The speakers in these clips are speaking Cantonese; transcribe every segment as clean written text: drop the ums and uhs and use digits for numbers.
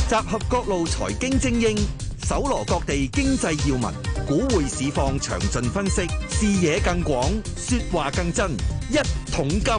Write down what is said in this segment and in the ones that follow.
集合各路財經精英，搜羅各地經濟要聞，股匯市況詳盡分析，視野更廣，說話更真。一桶金，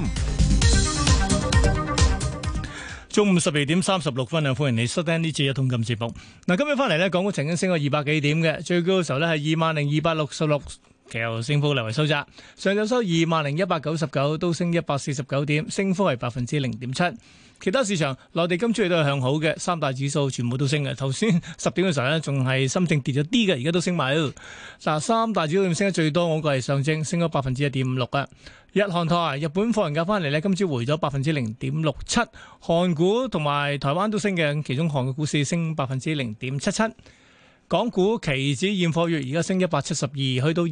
中午12:36啊！歡迎你收聽呢次一桶金節目。嗱，今日翻嚟咧，港股曾經升過200幾點嘅，最高嘅時候咧係20,266，其後升幅略為收窄。上晝收20,199，都升149點，升幅係0.7%。其他市場，內地今朝亦都係向好嘅，三大指數全部都升嘅。頭先10點嘅時候咧，仲係深證跌咗啲嘅，而家都升埋。嗱，三大指數升得最多，我個係上證，升咗1.56%啊。日韓台，日本放人假翻嚟咧，今朝回咗0.67%。韓股同埋台灣都升嘅，其中韓國股市升0.77%。港股期指現貨月而家升172，去到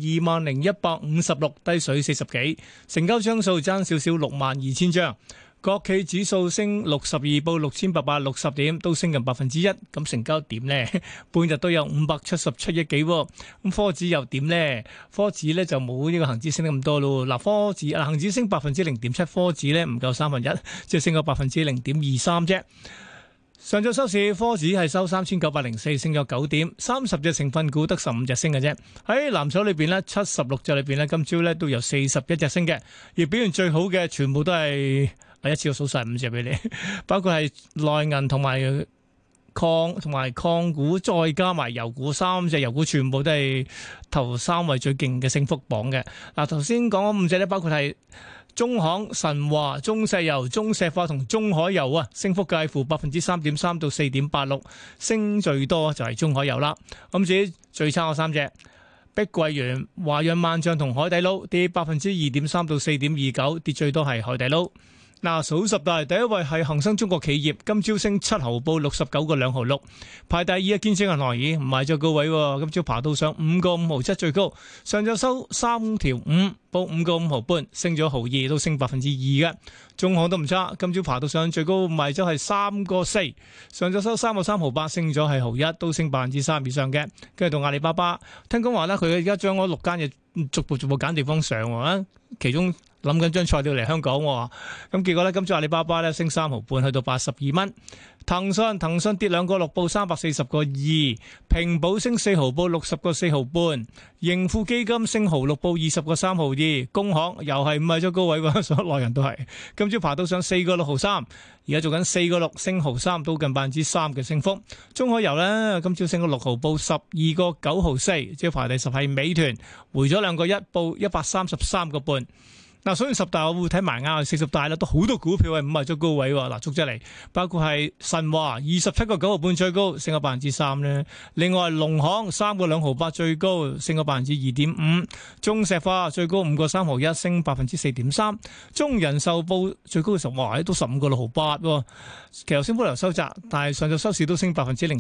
20,156，低水40幾，成交張數爭少少62,000張。國企指數升62，報6,860點，都升近1%。咁成交點呢？半日都有577億幾。咁科指又點呢？科指呢就冇呢個恒指升得咁多咯。嗱，科指恒指升0.7%，科指呢唔夠1/3，即係升咗0.03%啫。上晝收市，科指係收3,904，升咗9點，30隻成分股得15隻升嘅啫。喺藍籌裏邊呢，76隻裏邊呢，今朝呢都有41隻升嘅，而表現最好嘅全部都係。第一次我數晒5隻俾你，包括係內銀同埋礦股，再加埋油股，3隻油股全部都係頭3位最勁嘅升幅榜嘅。嗱，頭先講嗰5隻咧，包括係中行、神華、中石油、中石化同中海油啊，升幅介乎3.3%到4.86%，升最多就係中海油啦。咁至於最差嗰3隻，碧桂園、華潤萬象同海底撈，跌2.3%到4.29%，跌最多係海底撈。嗱，數十大第一位係恒生中國企業，今朝升7毫，報69.266。排第二嘅建設銀行，唔係最高位，今朝爬到上5.57最高。上晝收3條5，報5.5毫半，升咗毫2，都升2%嘅。中行都唔差，今朝爬到上最高賣咗係3.4，上晝收3.3毫8，升咗係毫1，都升3%以上嘅。跟住到阿里巴巴，聽講話咧，佢而家將嗰6間嘢逐步揀地方上啊，其中諗緊張菜料嚟香港，咁結果咧，今朝阿里巴巴咧升3毫半，去到82蚊。騰訊跌2個6，報340個2。平保升4毫，報60個4毫半。盈富基金升毫6，報20個3毫2。工行又係唔係咗高位喎，所有內人都係。今朝爬到上4個6毫3，而家做緊4個6，升毫3，到近3%嘅升幅。中海油咧，今朝升咗6毫，報12個9毫4。即係排第10係美團，回咗2個1，報133個半。嗱，所以10大我會睇埋啱，40大啦，都好多股票係5日咗高位喎。嗱，逐隻嚟，包括係神華27個9毫半最高，升咗3%咧。另外農行3個2毫8最高，升咗2.5%。中石化最高5個3毫1，升4.3%。中人壽報最高嘅時候，哇，都15個6毫8喎。其後升幅量收窄，但係上晝收市都升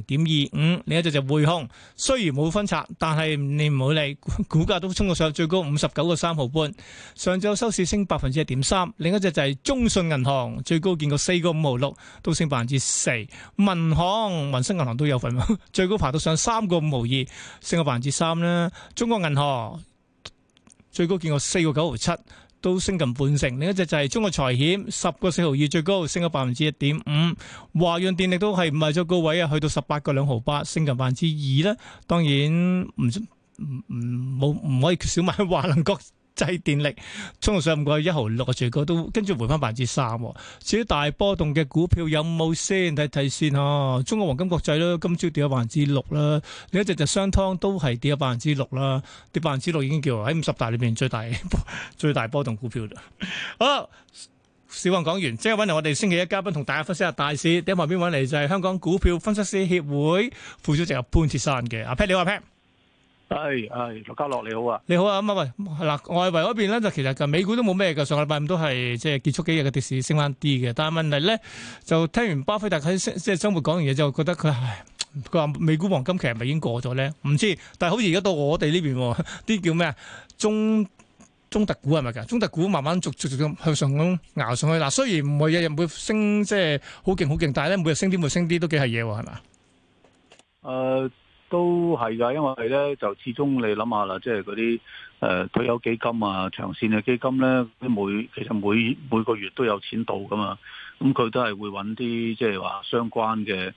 0.25%。另一隻就匯控，雖然冇分拆，但係你唔好理，股價都衝到上最高59個3毫半。上晝收市升1.3%，另一隻就係中信銀行，最高見過4個5毫6，都升4%。民生銀行都有份，最高爬到上3個5毫2，升咗3%啦。中國銀行最高見過4個9毫7，都升近半成。另一隻就係中國財險10個4毫2最高，升咗1.5%。華潤電力都係唔係咗高位啊，去到18個2毫8，升近2%啦。當然唔可以缺少埋華能國際電力，衝到上5個1毫6嘅最高，都跟住回翻3%。至於大波動嘅股票有冇先睇睇先啊？中國黃金國際啦，今朝跌咗6%啦。另一隻就商湯都係跌咗6%啦，跌6%已經叫喺50大裏邊最大波動股票啦。好，小王講完，即係揾嚟我哋星期一嘉賓同大家分析下大市。喺旁邊揾嚟就係香港股票分析師協會副主席潘鐵珊嘅阿 Pat， 你好阿 Pat。 係，陸家樂你好啊， 你好啊，咁啊喂，嗱，外圍嗰邊咧就其實美股都冇咩嘅，上個禮拜五都係即係結束幾日嘅跌市升翻啲嘅，但係問題咧就聽完巴菲特喺即係周末講完嘢之後，覺得佢話美股黃金期係咪已經過咗咧？唔知，但係好似而家到我哋呢邊啲叫咩啊中特股係咪㗎？中特股慢慢逐咁向上咁熬上去。嗱，雖然唔係日日會升，即係好勁，但係咧每日升啲，每日升啲都幾係嘢喎，係嘛？ 都係㗎，因為咧就始終你諗下啦，即係嗰啲退休基金啊、長線嘅基金咧，其實每個月都有錢到㗎嘛，咁佢都係會揾啲即係話相關嘅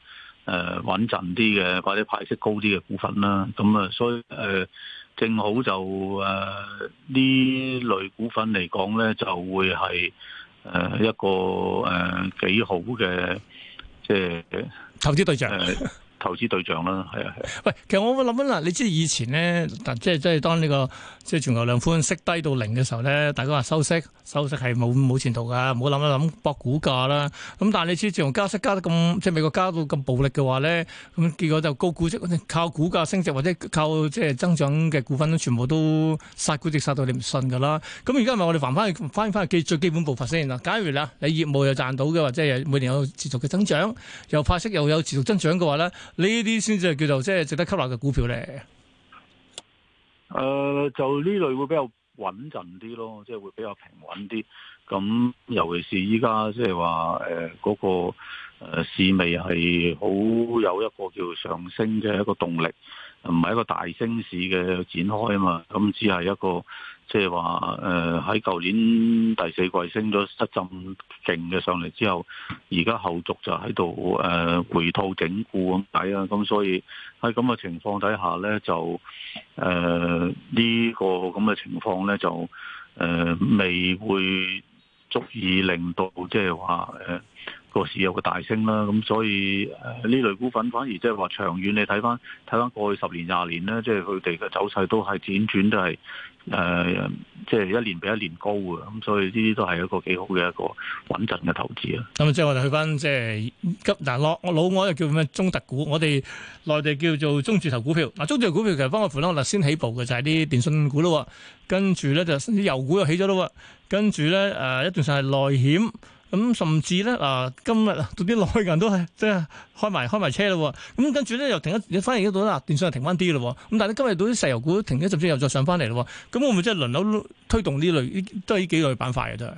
穩陣啲嘅或者派息高啲嘅股份啦。咁啊，所以正好就呢類股份嚟講咧，就會係一個幾好嘅即係投資對象。 投資對象啦，係啊。 喂，其實我會諗緊啦，你知以前咧，即係當呢個即係全球量寬息低到零嘅時候咧，大家話收息係冇前途㗎，唔好諗一諗搏股價啦。咁但係你知自從加息加得咁，即係美國加到咁暴力嘅話咧，咁結果就高估值，靠股價升值或者靠即係增長嘅股份都全部都殺估值殺到你唔信㗎啦。咁而家係咪我哋翻去最基本步伐先嗱？假如啦，你業務又賺到嘅，或者係每年有持續嘅增長，又派息又有持續增長嘅話咧，呢啲先至係叫做即係值得吸納嘅股票咧。 就呢類會比較穩陣啲咯，即係會比較平穩啲。咁尤其是依家即係話嗰個市味係好有一個叫上升嘅一個動力，唔係一個大升市嘅展開啊嘛。咁只係一個即係話喺舊年第四季升咗一陣勁嘅上嚟之後，而家後續就喺度回吐整固咁解啊。咁所以喺咁嘅情況底下咧，就呢個咁嘅情況咧，就未會足以令到即係話個市有個大升啦。咁所以呢類股份反而即係話長遠你睇翻過去10年20年咧，即係佢哋嘅走勢都係輾轉都係即係一年比一年高嘅。咁所以呢啲都係一個幾好嘅一個穩陣嘅投資啊。 咁即係我哋去翻即係老外又叫咩中特股，我哋內地叫做中字頭股票。嗱，中字頭股票其實幫我扶我先起步嘅就係啲電信股咯，跟住咧就啲油股又起咗咯，跟住咧一段上係內險。咁甚至咧今日到啲內銀都係即係開埋車咯。咁跟住咧又停一，反而嗰度啦，電信又停翻啲咯。咁但係今日到啲石油股停咗，甚至又再上翻嚟咯。咁會唔會即係輪流推動呢類都係呢幾類板塊嘅都係？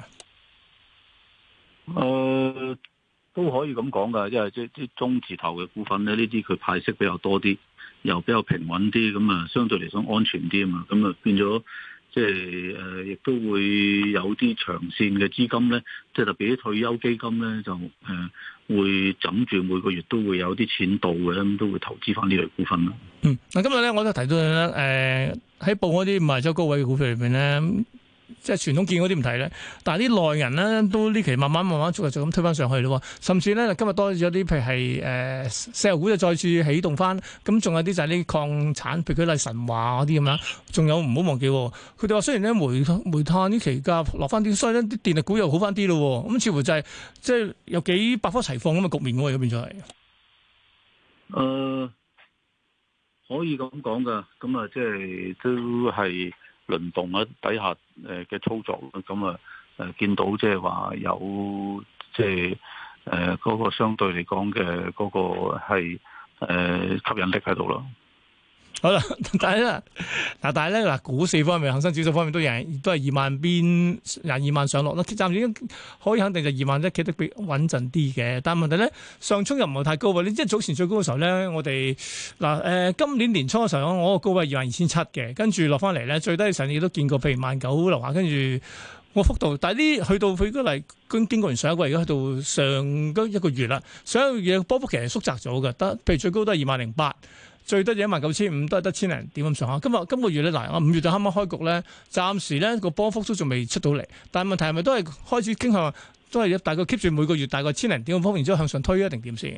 都可以咁講噶，因為即係中字頭嘅股份咧，呢啲佢派息比較多啲，又比較平穩啲，咁啊相對嚟講安全啲啊嘛，咁啊變咗。即係亦都會有啲長線嘅資金咧，即係特別啲退休基金咧，就會枕住每個月都會有啲錢到嘅，咁都會投資翻呢類股份啦。 嗱今日咧我都提到咧，喺報嗰啲賣咗高位嘅股票裏邊咧。即係傳統見嗰啲唔睇咧，但係啲內銀咧都呢期慢慢就咁推翻上去咯，甚至咧今日多咗啲，譬如係石油股就再次起動翻，咁仲有啲就係啲礦產，譬如舉例神華嗰啲咁樣，仲有唔好忘記，佢哋話雖然咧煤炭呢期價落翻啲，所以咧啲電力股又好翻啲咯，咁似乎就係即係有幾百花齊放咁嘅局面喎，而家變咗係。 可以咁講噶，咁啊即係都係。輪動啊底下嘅操作，咁啊見到即係話有即係嗰個相對嚟講嘅嗰個係吸引力喺度咯。 好啦，但係咧嗱，股市方面，恒生指數方面都係2萬邊22萬上落啦。暫時已經可以肯定就2萬一企得比穩陣啲嘅。但係問題咧，上衝又唔係太高喎。你即係早前最高嘅時候咧，我哋今年年初嘅時候，我個高位22,700嘅，跟住落翻嚟咧，最低嘅時候你都見過，譬如19,000樓下，跟住個幅度，但係啲去到佢嗰嚟經過完上一個，而家去到上一個月啦，上一個月波幅其實縮窄咗嘅，得譬如最高都係208,000。最低就19,500，都係得千零點咁上下。今個月咧，我5月就啱啱開局咧，暫時咧個波幅都仲未出到嚟。但係問題係咪都係開始傾向，都係大概 keep 住每個月大概千零點咁方，然之後向上推一定點先？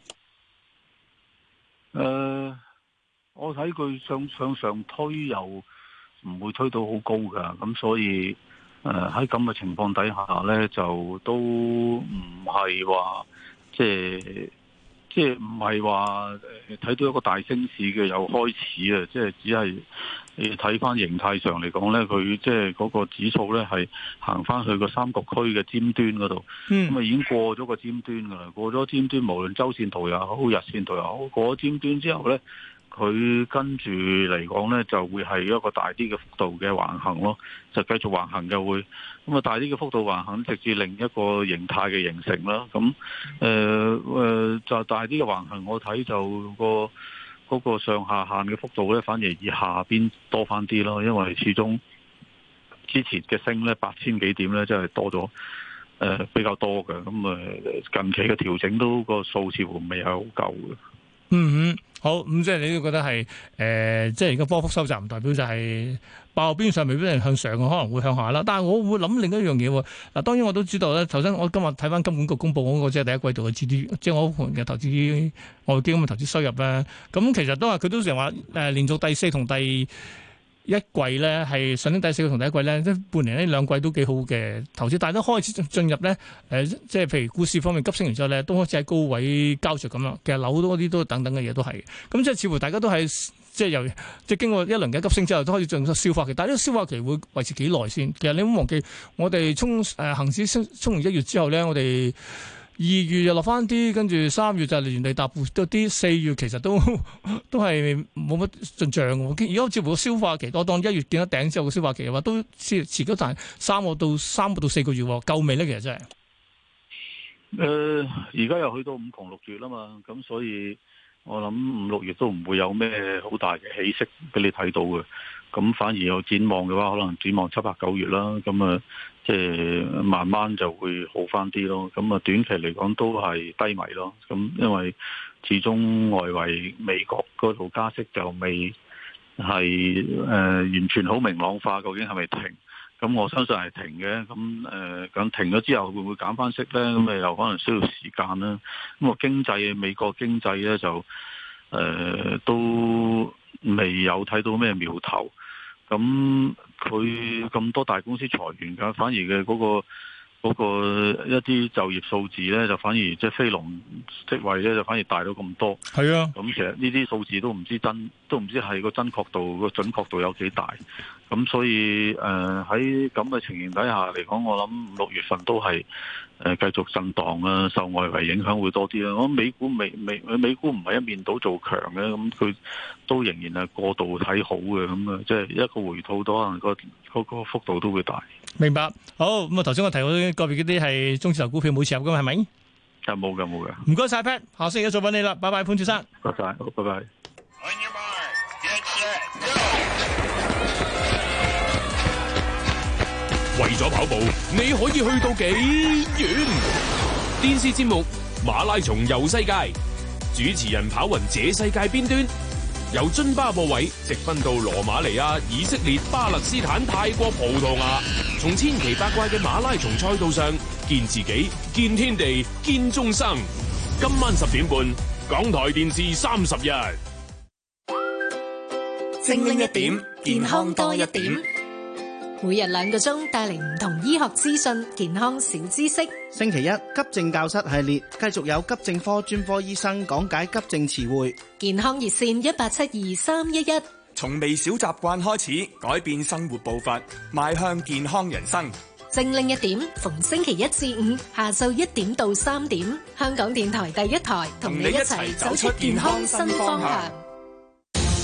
我睇佢向上推又唔會推到好高㗎，咁所以喺咁嘅情況底下咧，就都唔係話即係唔係話睇到一個大升市嘅又開始啊！即係只係你睇翻形態上嚟講咧，佢即係嗰個指數咧係行翻去個三角區嘅尖端嗰度，咁啊已經過咗個尖端噶啦，過咗尖端，無論周線圖又好，日線圖又好，過咗尖端之後咧，佢跟住嚟講咧就會係一個大啲嘅幅度嘅橫行咯，就繼續橫行嘅會。咁啊，大啲嘅幅度橫行，直至另一個形態嘅形成啦。咁就大啲嘅橫行，我睇就嗰個上下限嘅幅度咧，反而以下邊多翻啲咯。因為始終之前嘅升咧8000幾點咧，真係多咗比較多嘅。咁近期嘅調整都個數似乎未係好夠嘅。 嗯，好，咁即係你都覺得係即係而家波幅收窄唔代表就係爆邊上未必係向上嘅，可能會向下啦。但係我會諗另一樣嘢喎。嗱，當然我都知道咧。頭先我今日睇翻金管局公佈嗰個即係第一季度嘅 GDP，即係我盤嘅投資外基金嘅投資收入咧。咁其實都係佢都成日話連續第四同第一季咧係上年第四個同第一季咧，即係半年呢兩季都幾好嘅投資，但係都開始進入咧即係譬如股市方面急升完之後咧，都開始喺高位交著咁樣。其實樓多啲都等等嘅嘢都係，咁即係似乎大家都係即係由即係經過一輪嘅急升之後，都開始進入消化期。但係呢個消化期會維持幾耐先？其實你唔好忘記，我哋恆指衝完1月之後咧，我哋2月又落翻啲，跟住3月就原地踏步多啲，4月其實都係冇乜進帳嘅。而家似乎消化期多，當1月見到頂之後嘅消化期嘅話，都遲咗但3個到4個月，夠未咧？其實真係。 而家又去到5窮6月啦嘛，咁所以我諗5、6月都唔會有咩好大嘅起色俾你睇到嘅。咁反而有展望嘅話，可能展望7、8、9月啦。咁即係慢慢就會好翻啲咯。咁短期嚟講都係低迷咯。咁因為始終外圍美國嗰度加息就未係完全好明朗化，究竟係咪停？咁我相信係停嘅。咁停咗之後會唔會減翻息咧？咁又可能需要時間啦。咁美國經濟咧就都未有睇到咩苗頭。咁佢咁多大公司裁員㗎，反而嘅嗰個一啲就業數字咧，就反而即係非農職位咧，就反而大到咁多。 係啊， 咁其實呢啲數字都唔知係個準確度有幾大。咁所以喺咁嘅情形底下嚟講，我諗5、6月份都係繼續震盪啊，受外圍影響會多啲啦。我諗美股唔係一面倒做強嘅，咁佢都仍然係過度睇好嘅，咁即係一個回吐都可能嗰個幅度都會大。 明白。好，咁頭先我提到個別嗰啲係中字頭股票冇持有㗎嘛，係咪？ 冇㗎。 唔該晒 Pat， 下星期再揾你啦，拜拜，潘先生。 唔該晒，好，拜拜。 為咗跑步，你可以去到幾遠？電視節目《馬拉松遊世界》，主持人跑匀這世界邊端，由津巴布韋直奔到羅馬尼亞、以色列、巴勒斯坦、泰國、葡萄牙，從千奇百怪嘅馬拉松賽道上見自己、見天地、見眾生。今晚10點半，港台電視30日， 精靈一點，健康多一點。每日2個鐘帶嚟唔同醫學資訊、健康小知識。 星期一急症教室系列，繼續有急症科專科醫生講解急症詞彙。 健康熱線1872-311。 從微小習慣開始，改變生活步伐，邁向健康人生。 精靈一點，逢星期1至5下晝1點到3點，香港電台第一台同你一齊走出健康新方向。